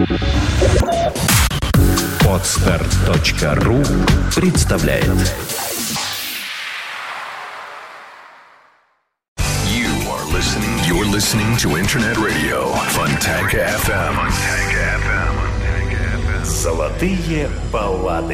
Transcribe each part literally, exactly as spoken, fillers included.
Подстар точка ру представляет. You are listening. You're listening to Internet Radio Fontanka эф эм. Золотые баллады.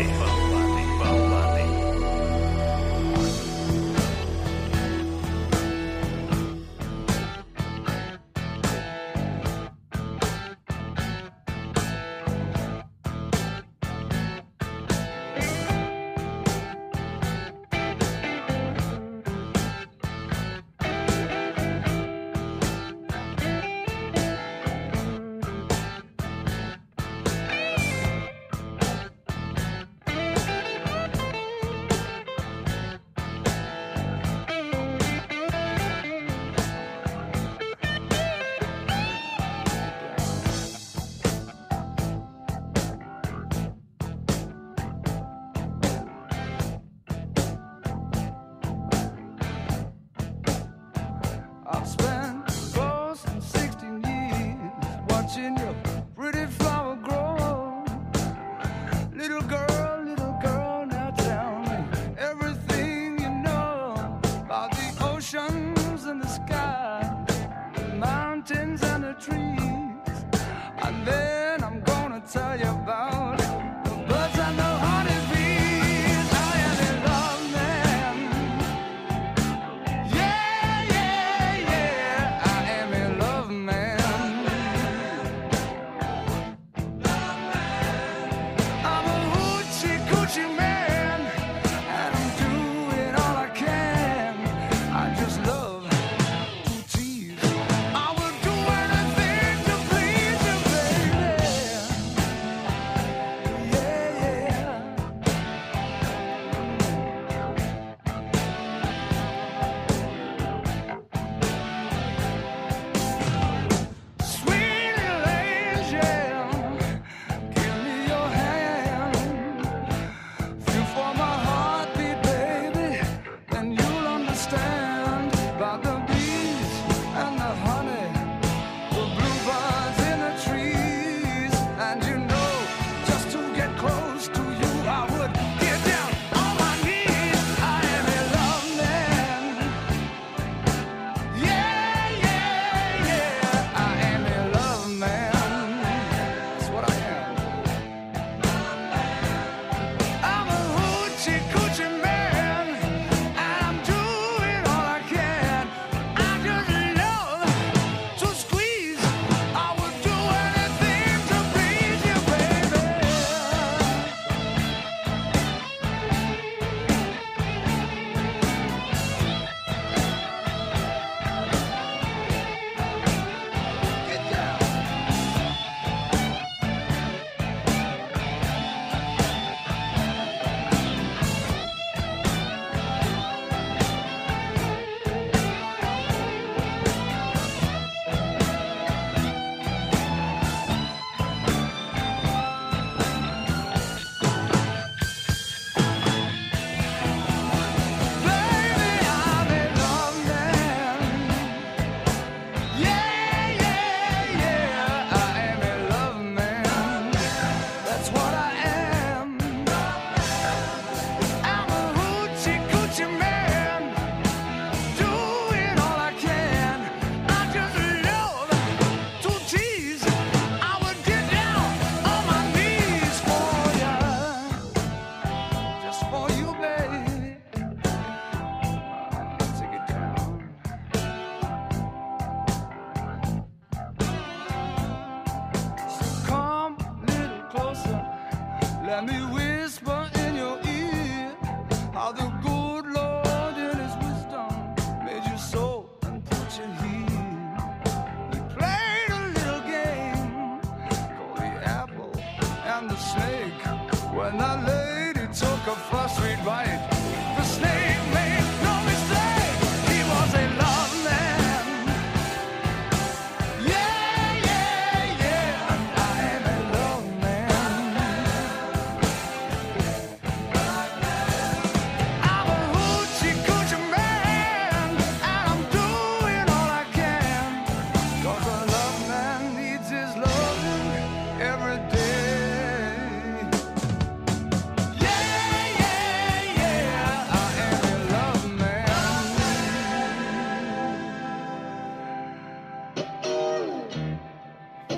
Every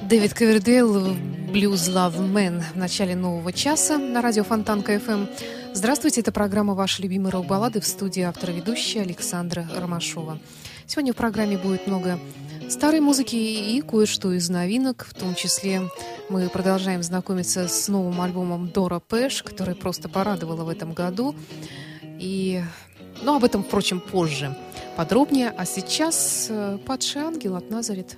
Дэвид Ковердейл, Blues Love Man в начале нового часа на радио Фонтанка эф эм. Здравствуйте, это программа «Ваши любимые рок-баллады», в студии автор-ведущая Александра Ромашова. Сегодня в программе будет много старой музыки и кое-что из новинок, в том числе мы продолжаем знакомиться с новым альбомом Дора Пэш, который просто порадовала в этом году. И, ну, об этом, впрочем, позже подробнее. А сейчас «Падший ангел» от Назарет.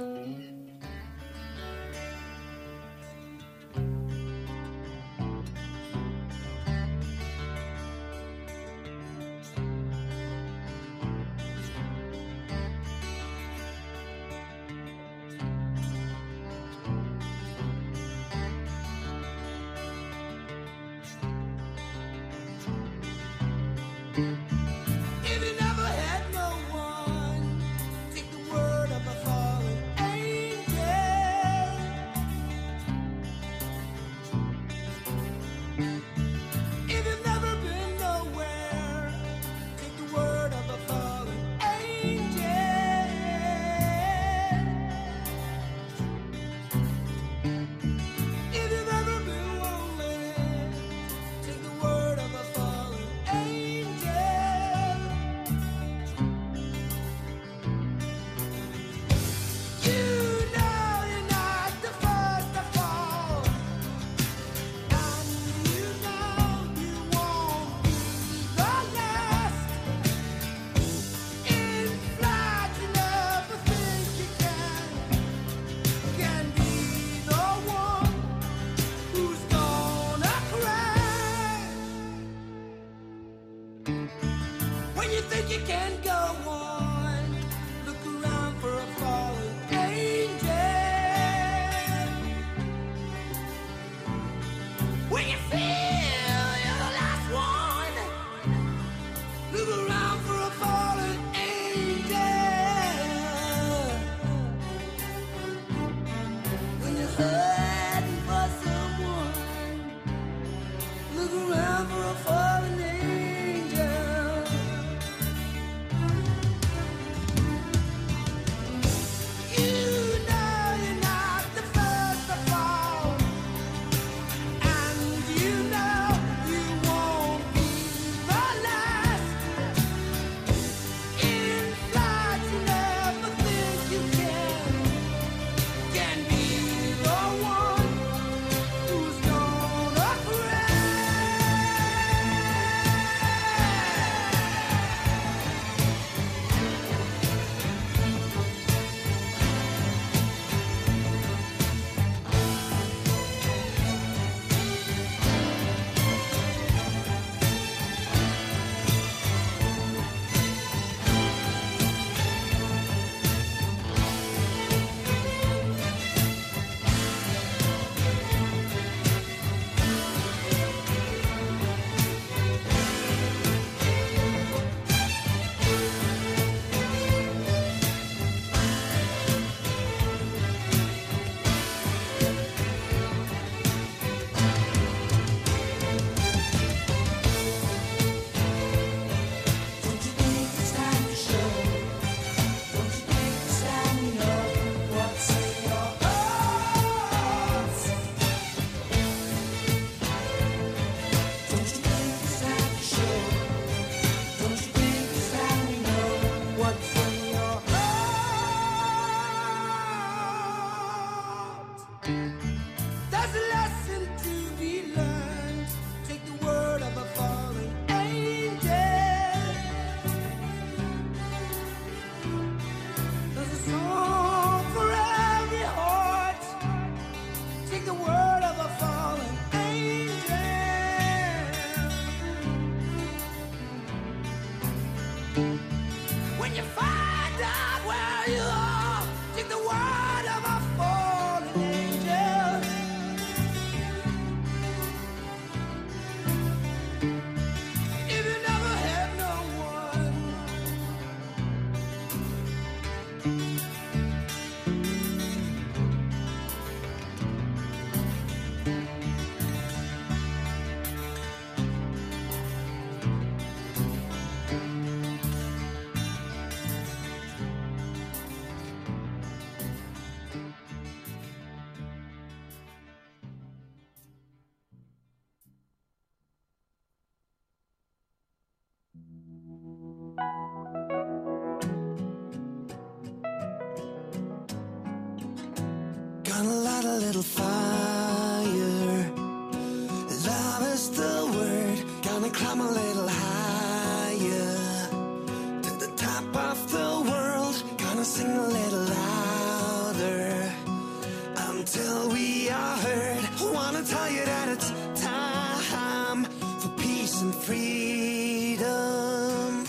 Gonna light a little fire. Love is the word. Gonna climb a little higher to the top of the world. Gonna sing a little louder until we are heard. Wanna tell you that it's time for peace and freedom.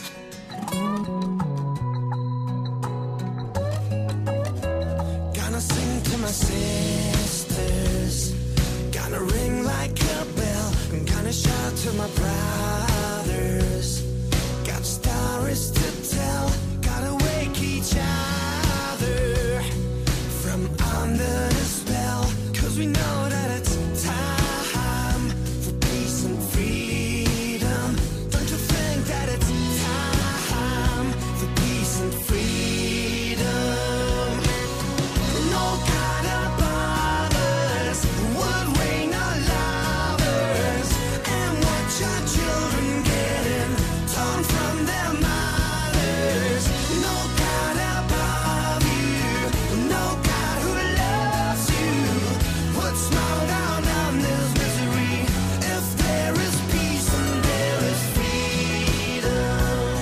Gonna sing to my sisters. Gonna ring like a bell. I'm gonna shout to my brothers. Got stories to tell. Gotta wake each other from under the spell. Cause we know that it's time for peace and freedom. Don't you think that it's time for peace and freedom? No God above us would reign our lovers and watch our children getting torn from their mothers. No God above you, no God who loves you would smile down on this misery if there is peace and there is freedom.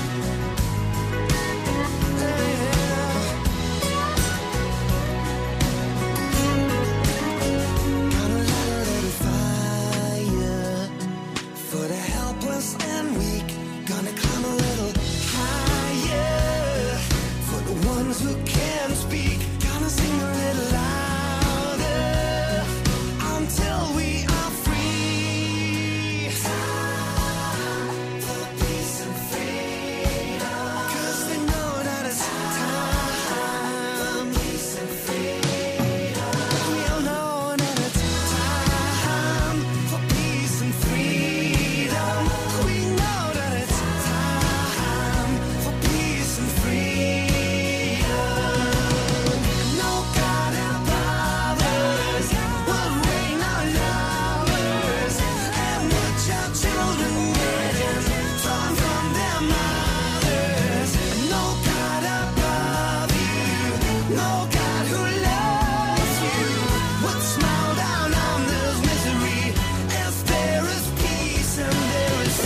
Gonna light a little fire for the helpless and weak. Gonna climb a little higher for the ones who can't speak. Gonna sing a little louder until we are free. Time for peace and freedom. Cause they know that it's time for peace and freedom. We all know that it's time for peace and freedom. We know that it's time for peace and freedom. No God above us will reign our lovers and watch our children getting torn from their mothers. No God above you, no God who loves you would smile down on this misery if there is peace and there is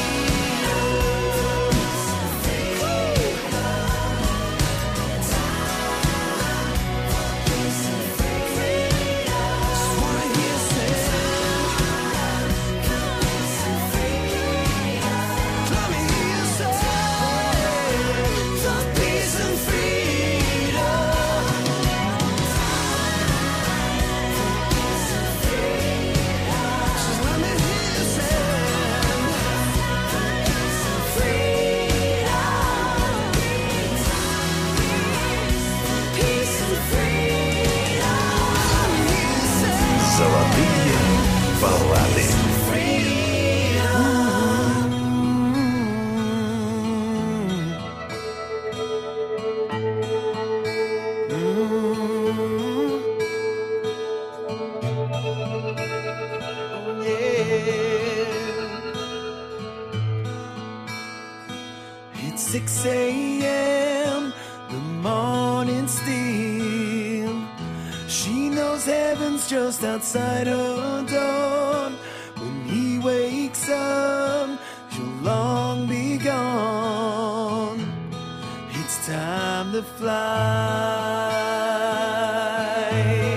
freedom. Just wanna hear say, let me hear you say, for peace and freedom. Just let me hear you say, peace and freedom. Let me hear you say, Золотые баллады. It's six a.m. The morning still. She knows heaven's just outside her door. When he wakes up, she'll long be gone. It's time to fly.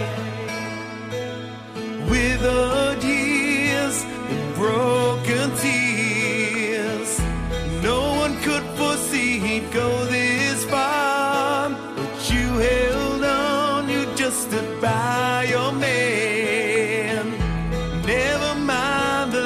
Withered years and broken tears. No one could foresee he'd go this far, but you held on, you just stood by your man. Never mind the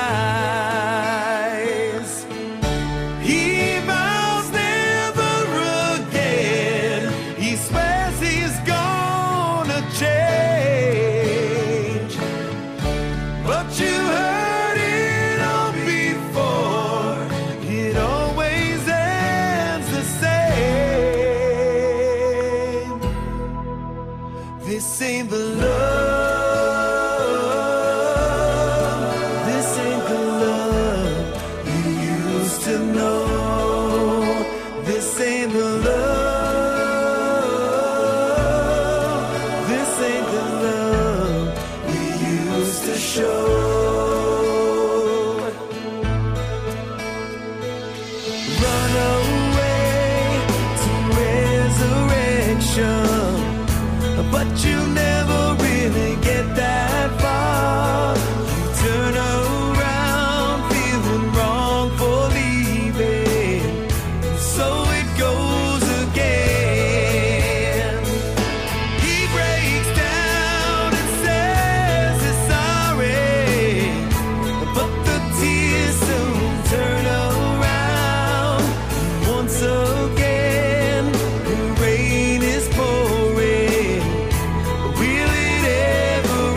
lies. He vows never again. He swears he's gonna change, but you heard it. show. Run away to resurrection, but you never really get that far. You turn around feeling wrong for leaving, so it goes again. He breaks down and says he's sorry, but the tears soon turn around. Once again, the rain is pouring. Will it ever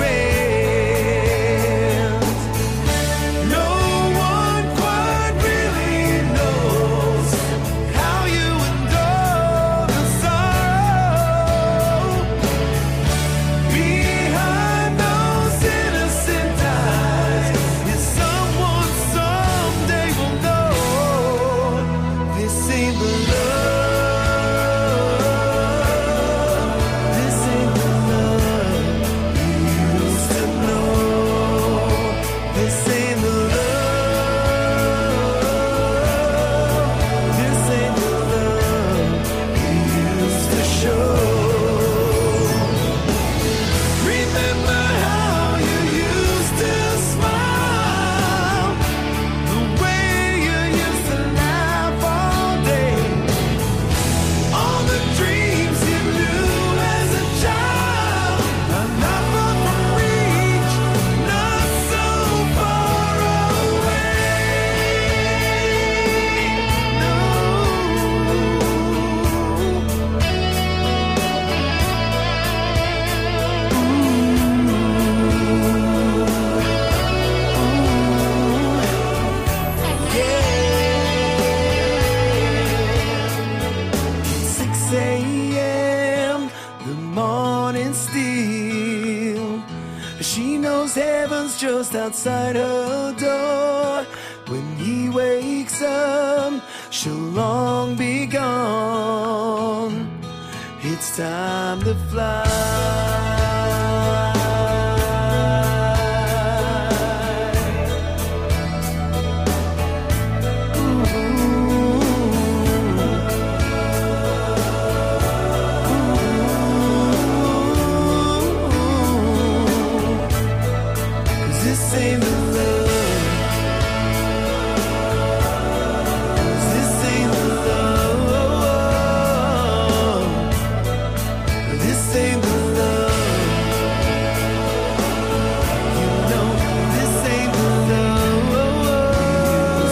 end? No one quite really knows how you endure the sorrow behind those innocent eyes. Is someone someday will know this ain't the love, this ain't the love you used to know. This ain't the love, this ain't the love you used to show. Remember how you used to smile, the way you used to laugh all day, all the dreams you knew as a child are not far from reach, not so far away. No. six a.m. the morning still. She knows heaven's just outside her door. When he wakes up, she'll long be gone. It's time to fly. Cause this ain't the love. Cause this ain't the love. This ain't the love. You know, this ain't the love.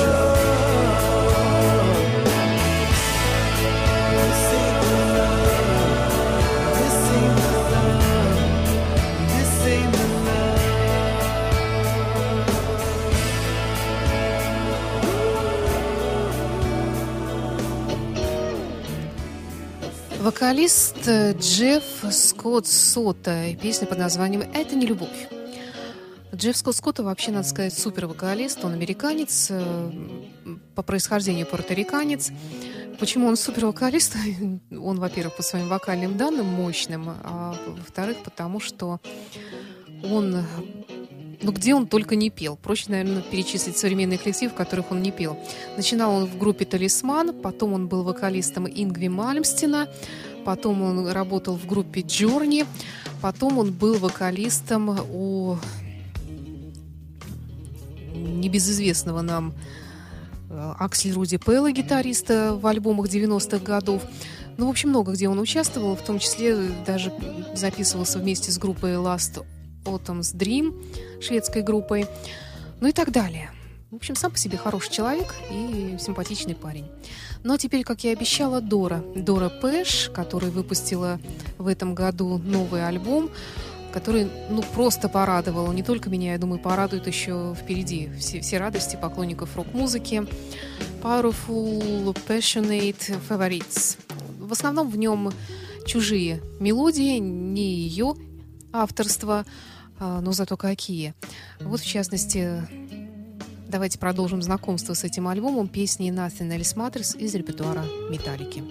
This ain't the love. This ain't the love. This ain't the love. Вокалист э, Джефф Скотт Сотто. Песня под названием «Это не любовь». Джефф Скотт Сотто вообще, надо сказать, супер-вокалист. Он американец, э, по происхождению пуэрториканец. Почему он супер-вокалист? Он, во-первых, по своим вокальным данным мощным, а во-вторых, потому что он... Ну, где он только не пел. Проще, наверное, перечислить современные коллективы, в которых он не пел. Начинал он в группе «Талисман», потом он был вокалистом Ингви Мальмстена, потом он работал в группе «Джорни», потом он был вокалистом у небезызвестного нам Аксель Руди Пелла, гитариста в альбомах девяностых годов. Ну, в общем, много где он участвовал, в том числе даже записывался вместе с группой Last Autumn's Dream, шведской группой, ну и так далее. В общем, сам по себе хороший человек и симпатичный парень. Ну а теперь, как я и обещала, Дора. Дора Пэш, которая выпустила в этом году новый альбом, который, ну, просто порадовал. Не только меня, я думаю, порадует еще впереди все, все радости поклонников рок-музыки. Powerful, Passionate, Favorites. В основном в нем чужие мелодии, не ее авторство, но зато какие. Вот, в частности, давайте продолжим знакомство с этим альбомом песни Nothing Else Matters из репертуара Металлики.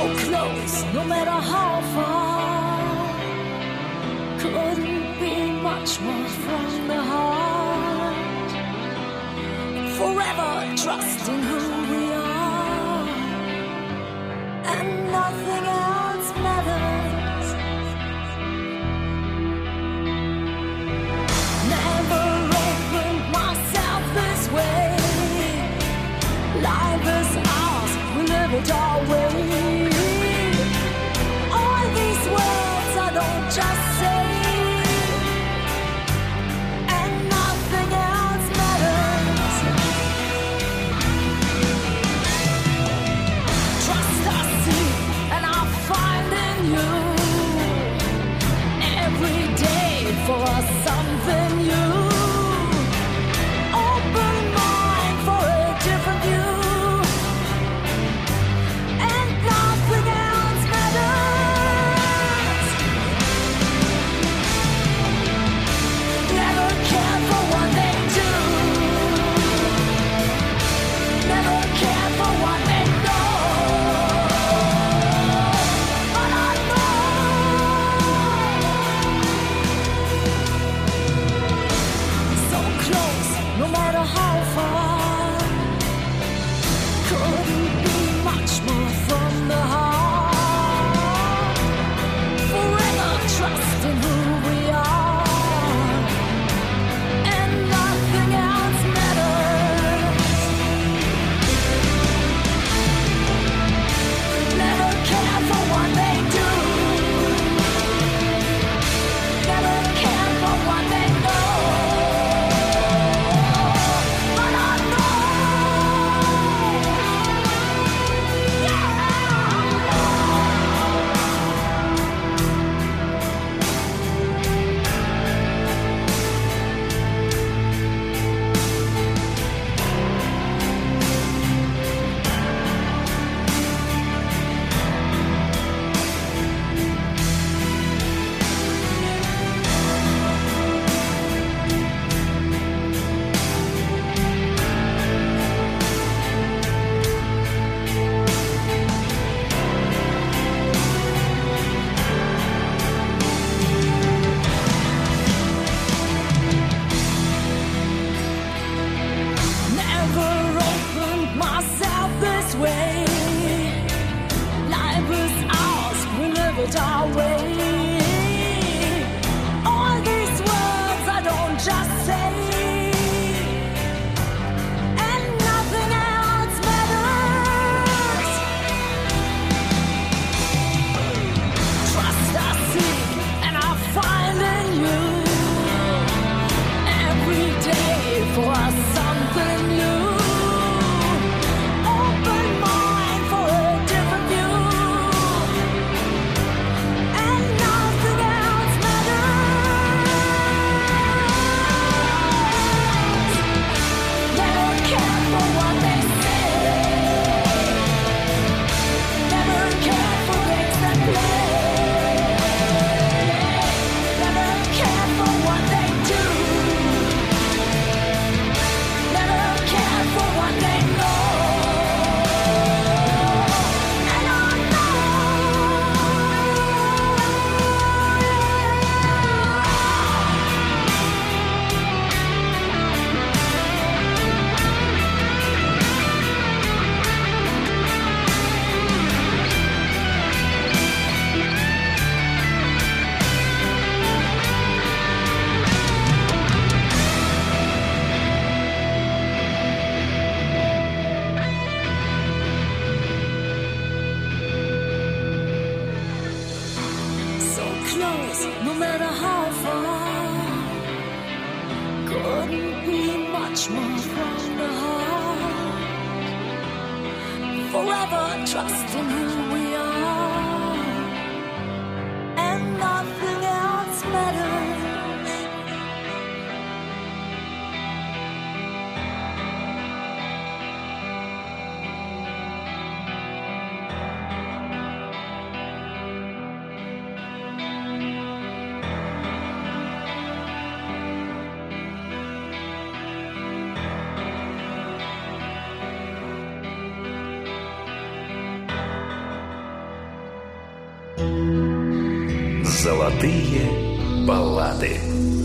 close, no matter how far. Couldn't be much more from the heart. Forever trusting who we are, and nothing else matters. Never opened myself this way. Life is ours, we live it our way. All these words I don't just say, and nothing else matters. Trust I see, and I find in you every day for us something new. Open mind for a different view. Золотые баллады.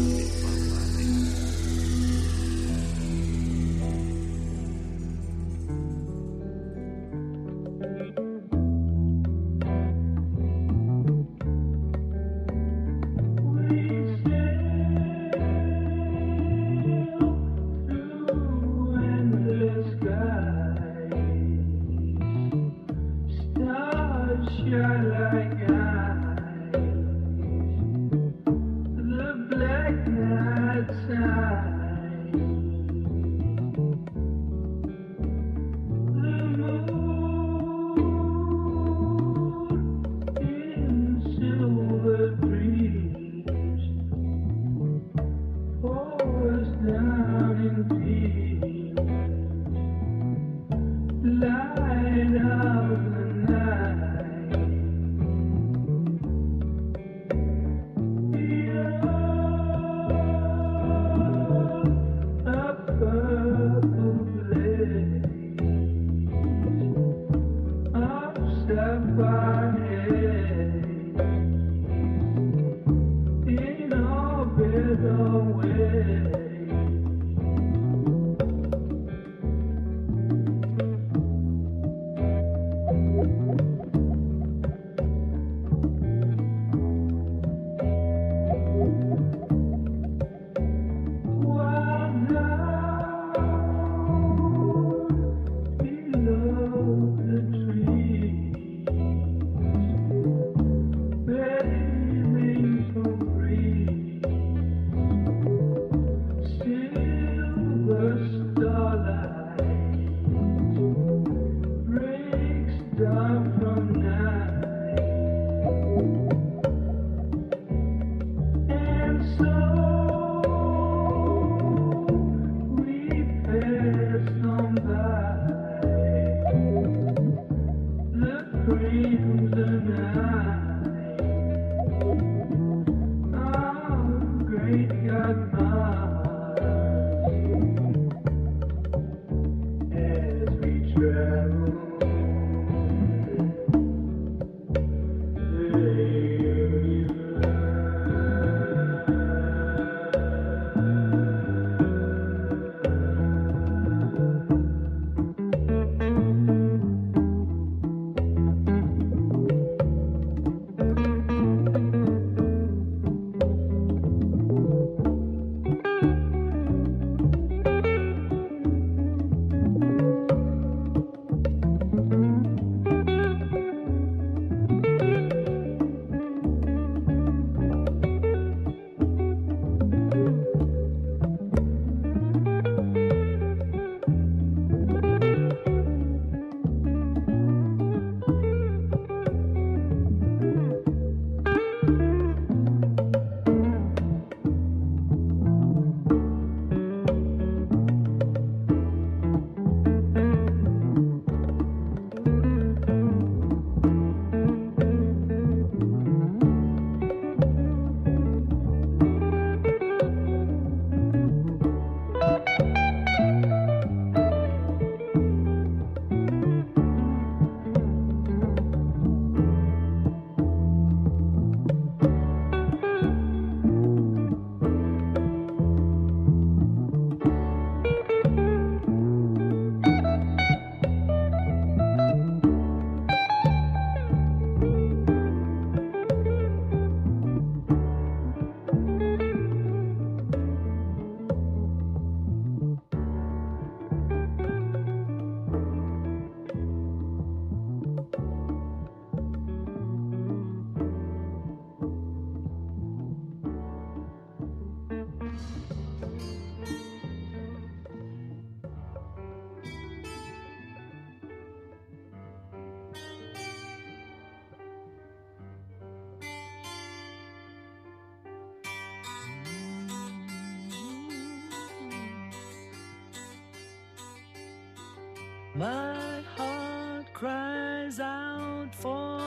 My heart cries out for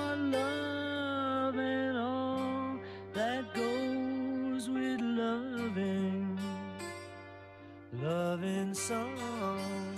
love and all that goes with loving. Loving song,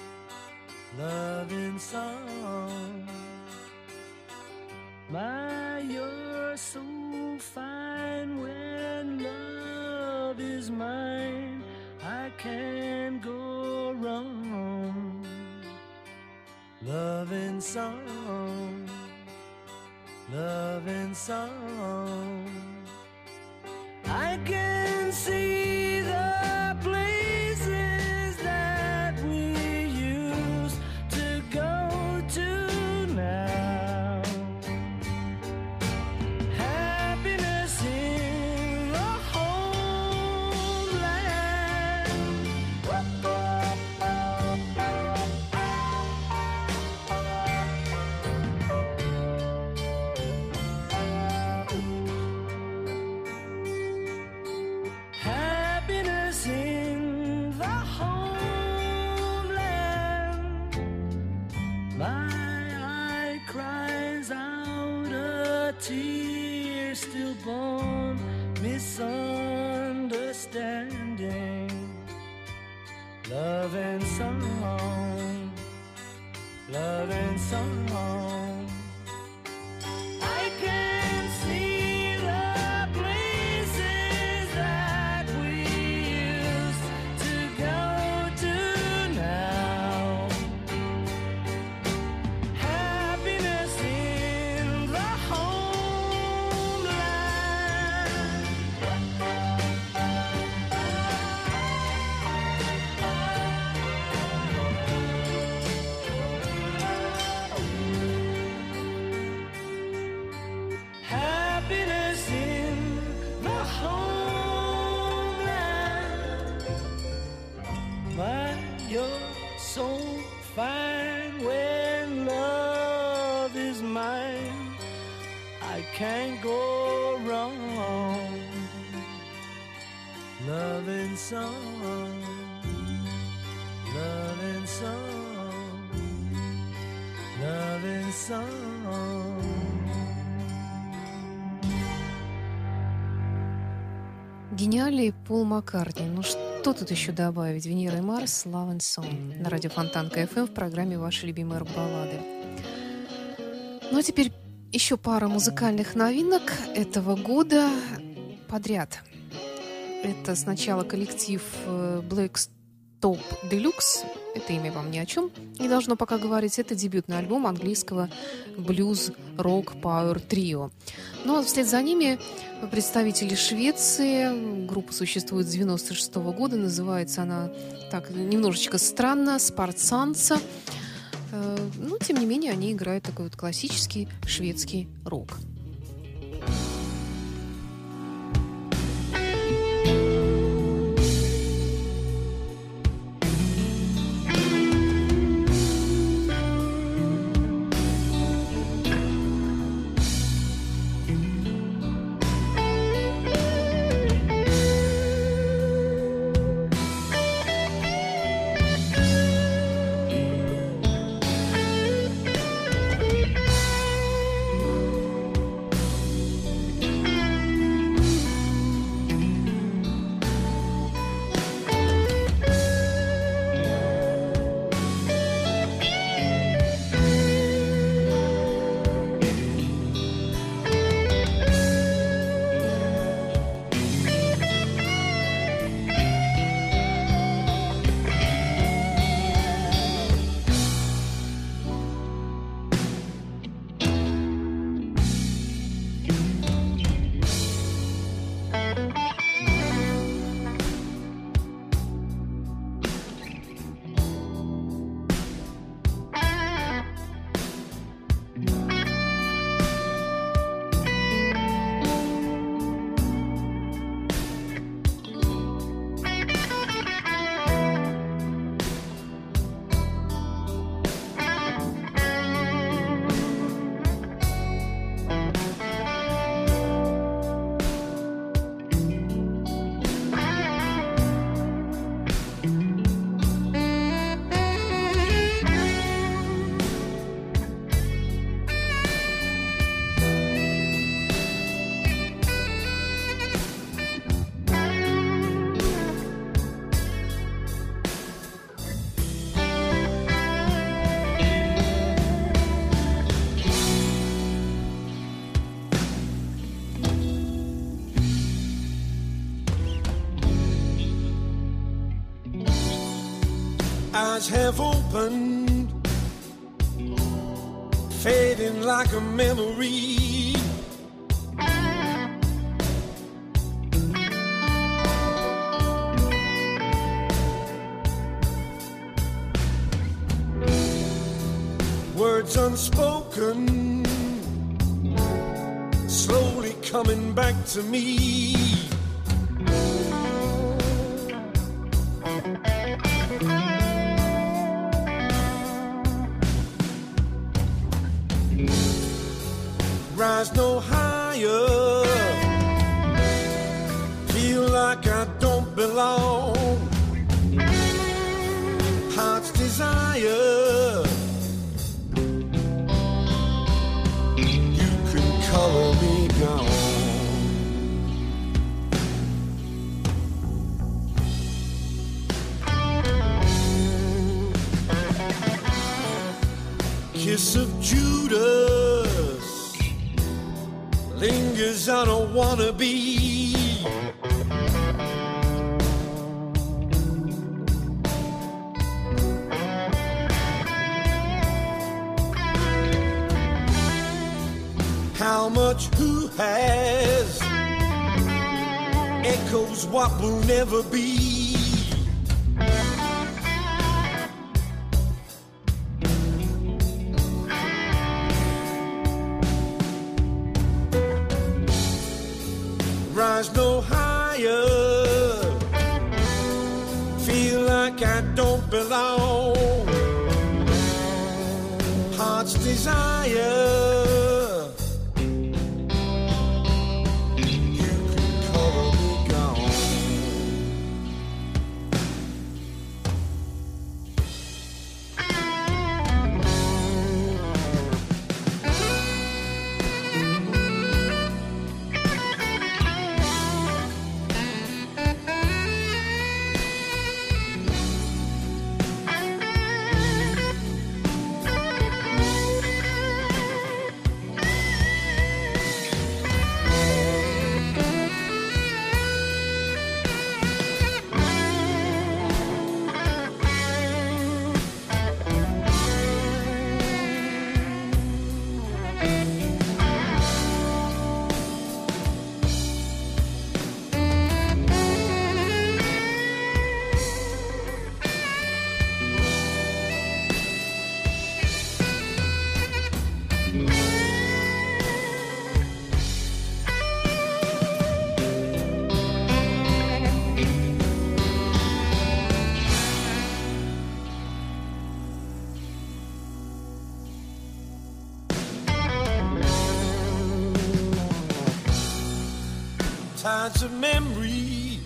loving song. My My, you're so fine when love is mine. I can't go wrong. Love and song, love and song. I can see the places that we used to go to now. Happiness in the homeland. Happiness in the homeland. My eye cries out a tear stillborn misunderstanding. Love and song, love and song. I can see the places that we used to go to now. Happiness in the homeland. Happiness in the homeland. My, you're so fine when love is mine. I can't go wrong. Love and song, love and song, love and song. Гениальный Пол Маккартни. Ну что тут еще добавить? Венера и Марс, Love and Song. На радио Фонтанка эф эм в программе «Ваши любимые рок-баллады». Ну а теперь еще пара музыкальных новинок этого года подряд. Это сначала коллектив Black Stop Deluxe. Это имя вам ни о чем не должно пока говорить. Это дебютный альбом английского блюз-рок-пауэр-трио. Ну а вслед за ними представители Швеции. Группа существует с девяносто шестого года. Называется она так немножечко странно «Спартсанса». Но, тем не менее, они играют такой вот классический шведский рок. eyes have opened, fading like a memory. Words unspoken, slowly coming back to me. Rise no higher, feel like I don't belong. Heart's desire, you can color me gone. Kiss of Judas lingers, I don't wanna be. How much who has echoes what will never be. Rise no higher, feel like I don't belong. Heart's desire, you can color me gone. Tides of memory,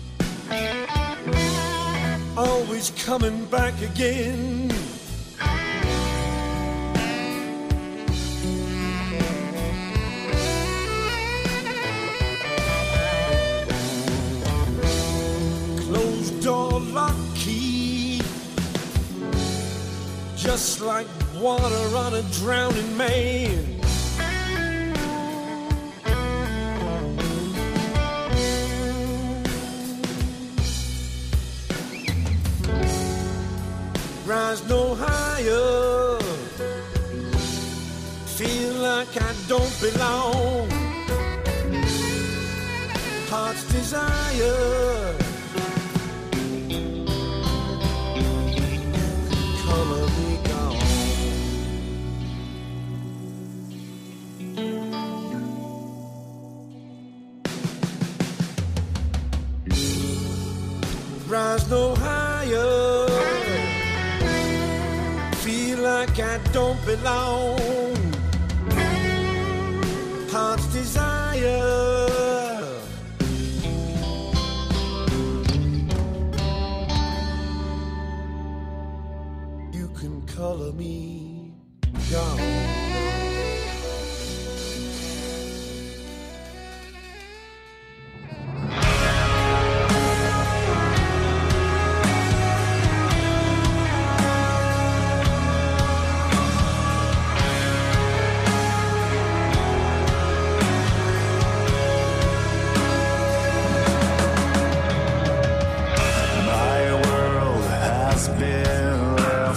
always coming back again. Closed door, lock key, just like water on a drowning man. Rise no higher, feel like I don't belong. Heart's desire, color me gone. Rise no higher, feel like I don't belong. Heart's desire, you can color me gone. My world has been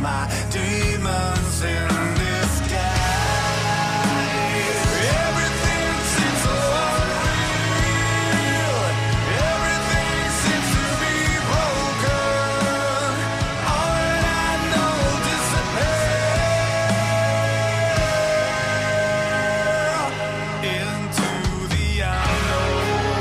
my demons in disguise. Everything seems so unreal. Everything seems to be broken. All that I know disappears into the unknown.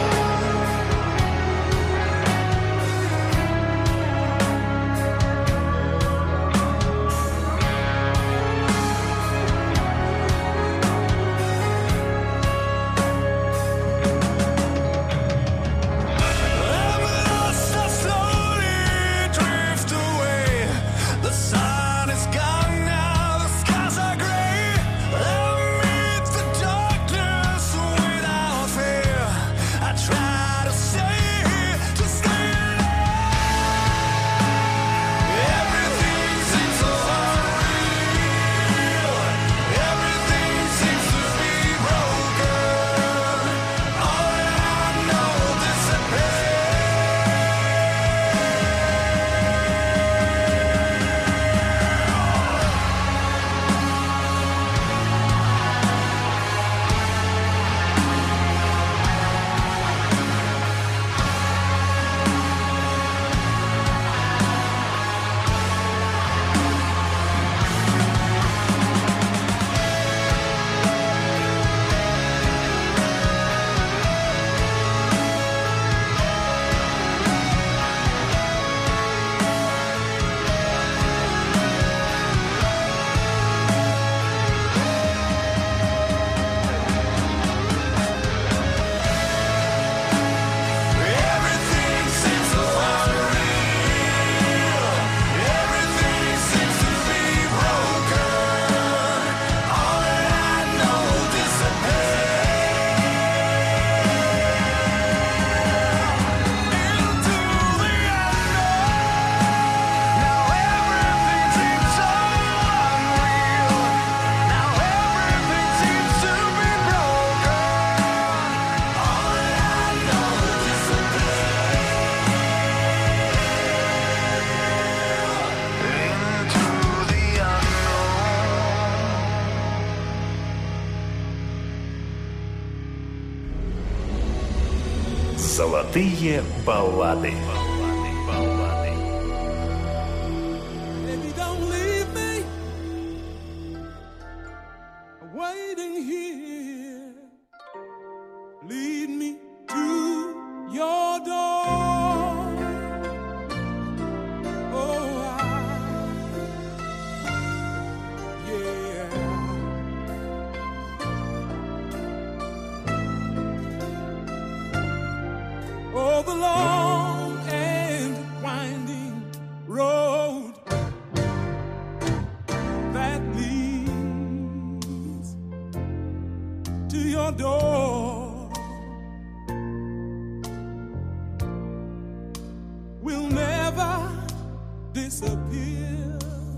I'm lost, I slowly drift away. The sun is gone now, the skies are gray. I meet the darkness without fear. I try to stay here, to stay alive. Everything seems so unreal. Everything seems to be broken. All that I know disappears. Everything seems so unreal. Everything seems to be broken. All that I know disappears into the unknown. Now everything seems so unreal. Now everything seems to be broken. All that I know disappears into the unknown. Золотые баллады. Baby, don't leave me waiting here. Lead me to your door. Oh, I, yeah. Oh, the long and winding road that leads to your door will never disappear.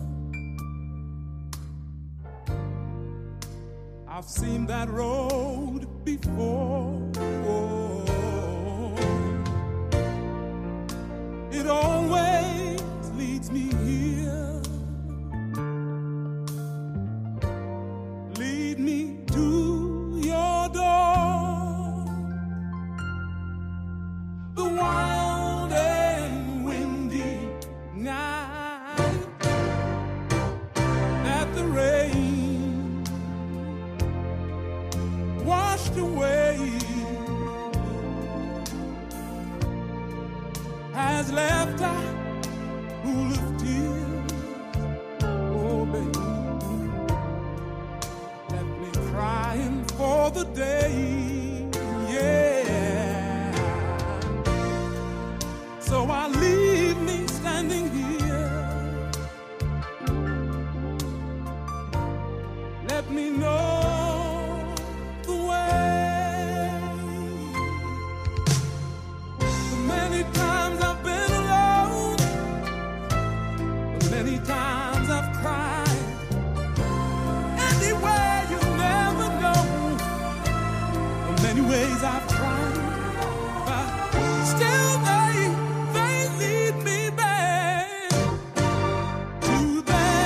I've seen that road before. It always leads me here. Lead me to your door. The wild and windy night that the rain washed away has left a pool of tears. Oh, baby, left me crying for the day. Yeah. So I leave me standing here. Let me know the way. The many times I've been alone, the many times I've cried. Anywhere you never know. The many ways I've tried, but still they, they lead me back to that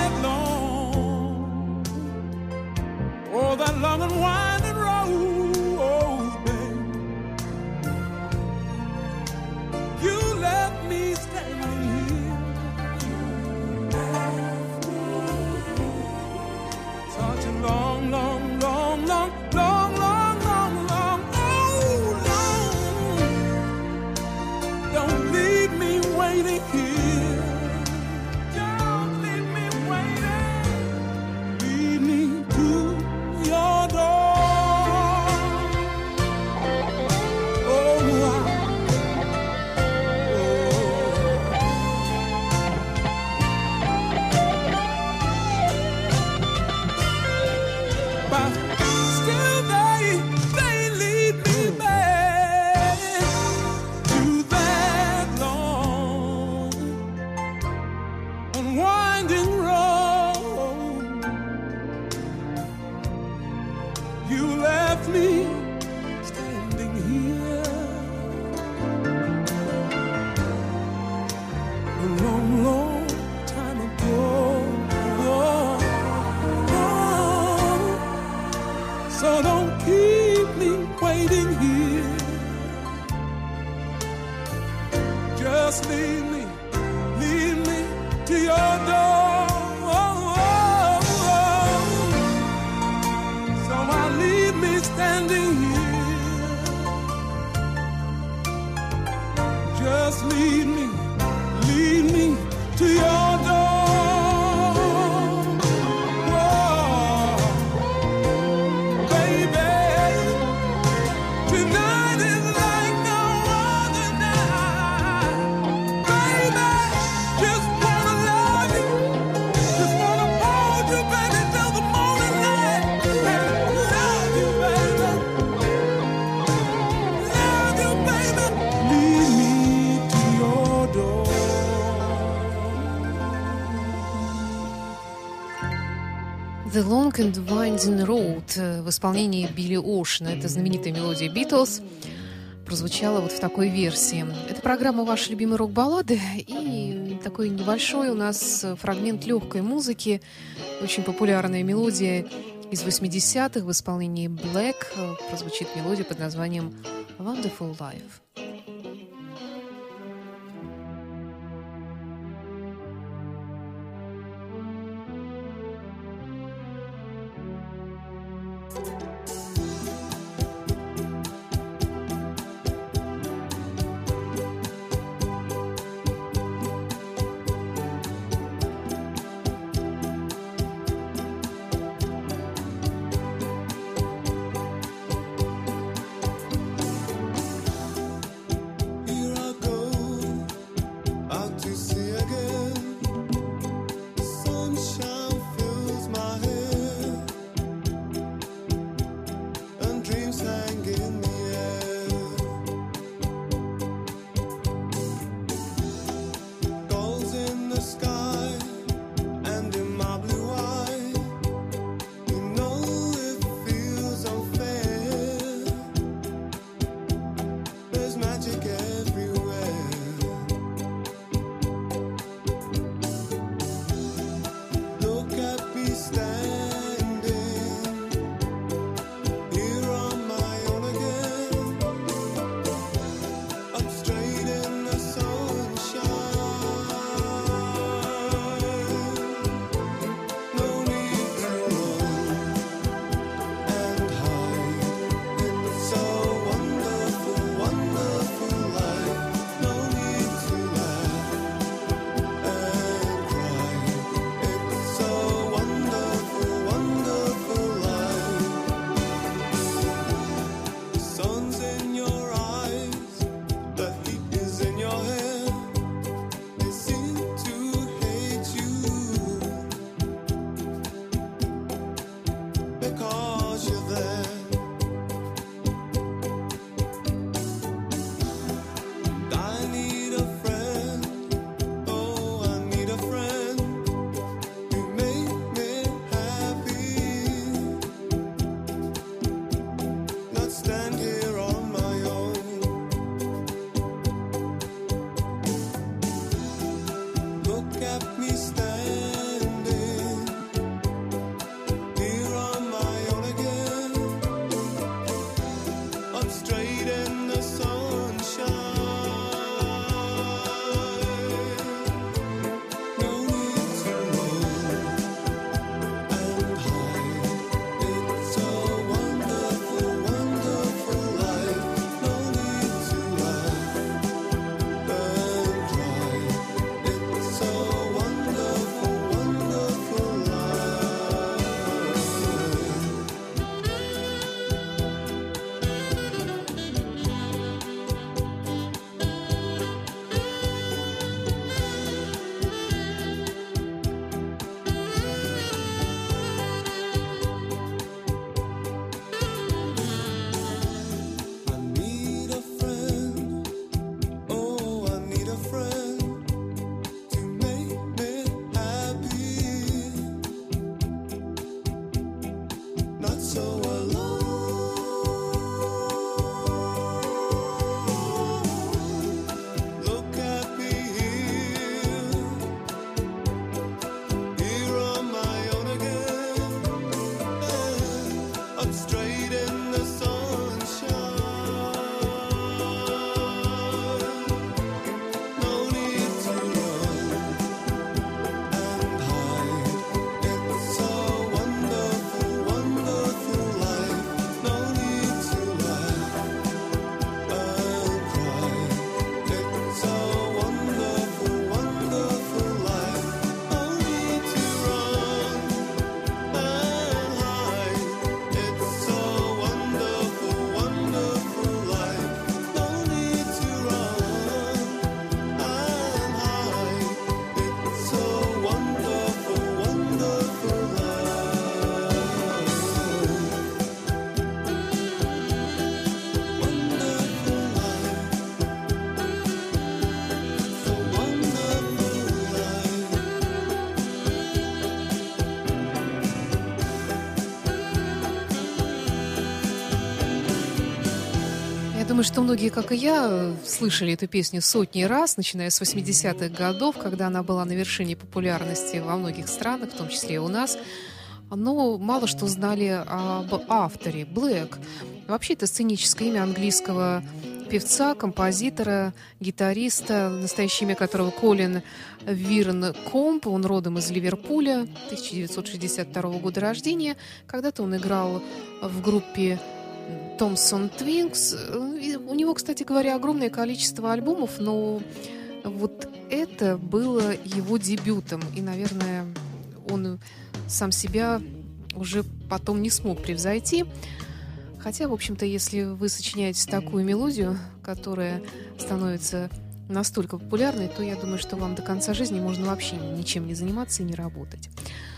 The Long and Winding Road в исполнении Билли Оушена. Это знаменитая мелодия Beatles. Прозвучала вот в такой версии. Это программа «Ваши любимые рок-баллады». И такой небольшой у нас фрагмент легкой музыки. Очень популярная мелодия из восьмидесятых в исполнении Black. Прозвучит мелодия под названием «Wonderful Life». думаю, что многие, как и я, слышали эту песню сотни раз, начиная с восьмидесятых годов, когда она была на вершине популярности во многих странах, в том числе и у нас. Но мало что знали об авторе Блэк. Вообще, это сценическое имя английского певца, композитора, гитариста, настоящее имя которого Колин Вирн Комп. Он родом из Ливерпуля, тысяча девятьсот шестьдесят второго года рождения. Когда-то он играл в группе Томпсон Твинкс. У него, кстати говоря, огромное количество альбомов, но вот это было его дебютом. И, наверное, он сам себя уже потом не смог превзойти. Хотя, в общем-то, если вы сочиняете такую мелодию, которая становится настолько популярной, то я думаю, что вам до конца жизни можно вообще ничем не заниматься и не работать.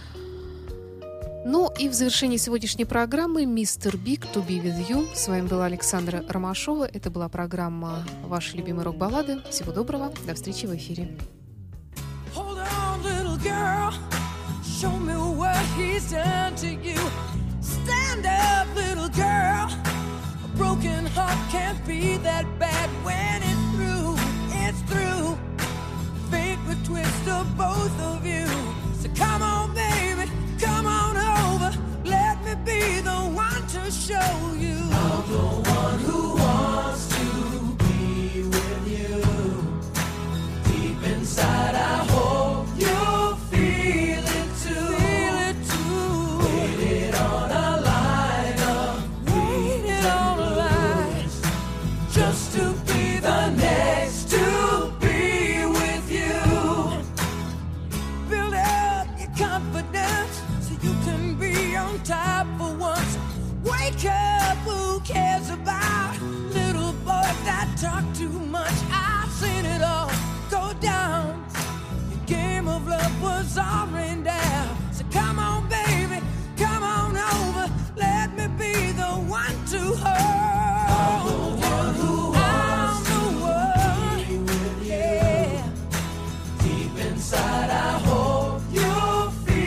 Ну и в завершении сегодняшней программы «Мистер Биг, To Be With You». С вами была Александра Ромашова. Это была программа «Ваши любимые рок-баллады». Всего доброго. До встречи в эфире. Hold on, little girl. Show me what he's done to you. Stand up, little girl. A broken heart can't be that bad when it's through. It's through. Fate would twist of both of you. So come on, baby. Come on over, let me be the one to show you. I'm the one who wants to be with you. Deep inside I hope you'll feel it too. Feel it too. Waited on a line of waited on a line just to be the next to be with you. Build up your confidence. You can be on top for once. Wake up, who cares about little boys that talk too much? I've seen it all go down. The game of love was all rained down. So come on, baby, come on over. Let me be the one to hold. I'm the one who wants to be with you. Yeah. Deep inside I hope you'll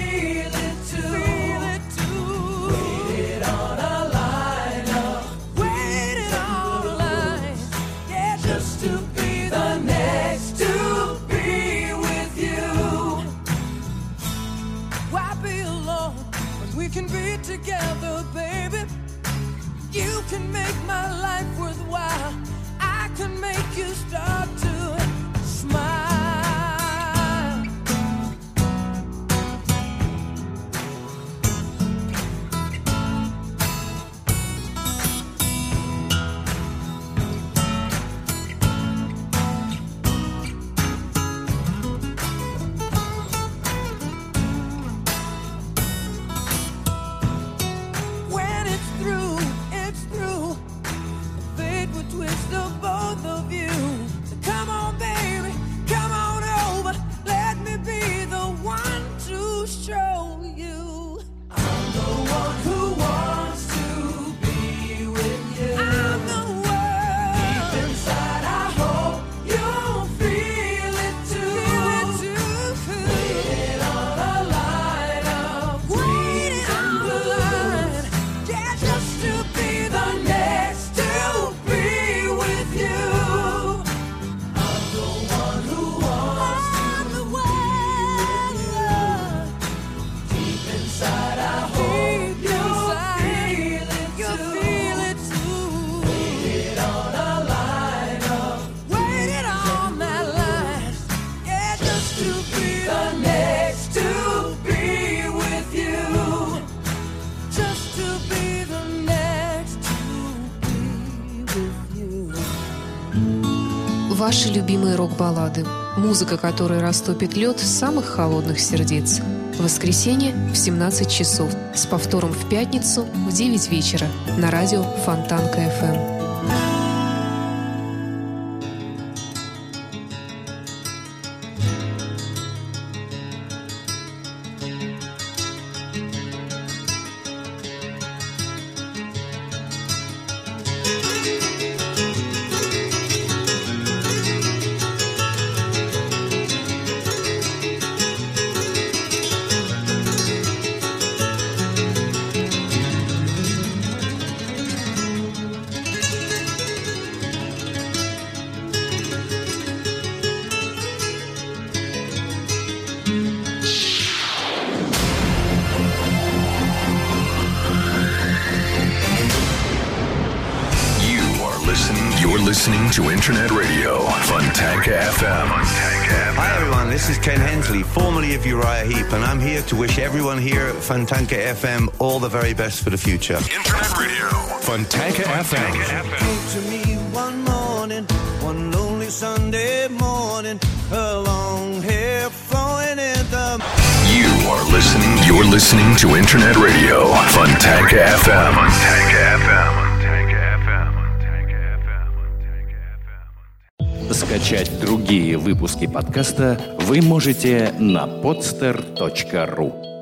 can be together, baby. You can make my life worthwhile. I can make you start to smile. Ваши любимые рок-баллады. Музыка, которая растопит лед самых холодных сердец. В воскресенье в семнадцать часов. С повтором в пятницу в девять вечера на радио Фонтанка эф эм. listening to Internet Radio, Fontanka эф эм. Hi everyone, this is Ken Hensley, formerly of Uriah Heep, and I'm here to wish everyone here at Fontanka эф эм all the very best for the future. Internet Radio, Fontanka эф эм. Came to me one morning, one lonely Sunday morning, her long hair flowing in the... You are listening, you're listening to Internet Radio, Fontanka эф эм. Fontanka эф эм. Скачать другие выпуски подкаста вы можете на podster точка ру.